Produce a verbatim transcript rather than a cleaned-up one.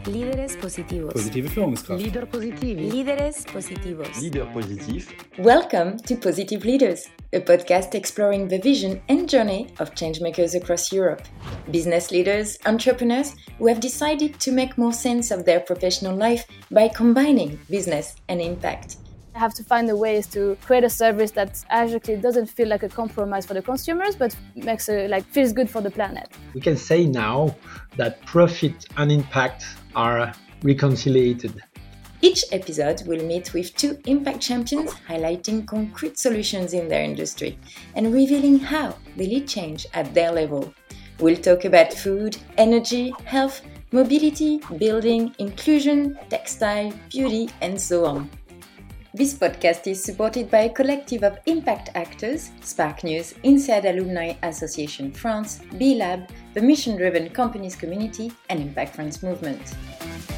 Líderes positivos. Positive Führungskraft. Leader positivi. Líderes positivos. Leader positif. Welcome to Positive Leaders, a podcast exploring the vision and journey of changemakers across Europe. Business leaders, entrepreneurs who have decided to make more sense of their professional life by combining business and impact. I have to find the ways to create a service that actually doesn't feel like a compromise for the consumers, but makes a, like feels good for the planet. We can say now that profit and impact are reconciliated. Each episode will meet with two impact champions highlighting concrete solutions in their industry and revealing how they lead change at their level. We'll talk about food, energy, health, mobility, building, inclusion, textile, beauty, and so on. This podcast is supported by a collective of impact actors, Spark News, INSEAD Alumni Association France, B-Lab, the Mission Driven Companies Community, and Impact France Movement.